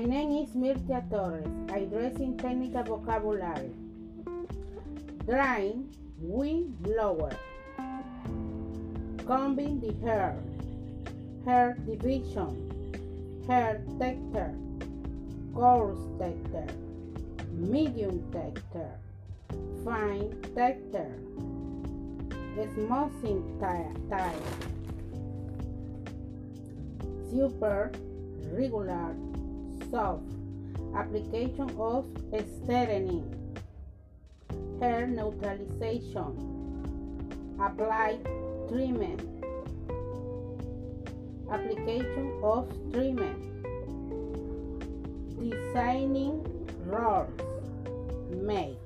name is Mirtia Torres. I dress in technical vocabulary. Drying, wind blower. Combing the hair division, hair texture, coarse texture, medium texture, fine texture, smoothing tile, super, regular, soft, application of straightening, hair neutralization, apply treatment, application of treatment, designing rolls, make.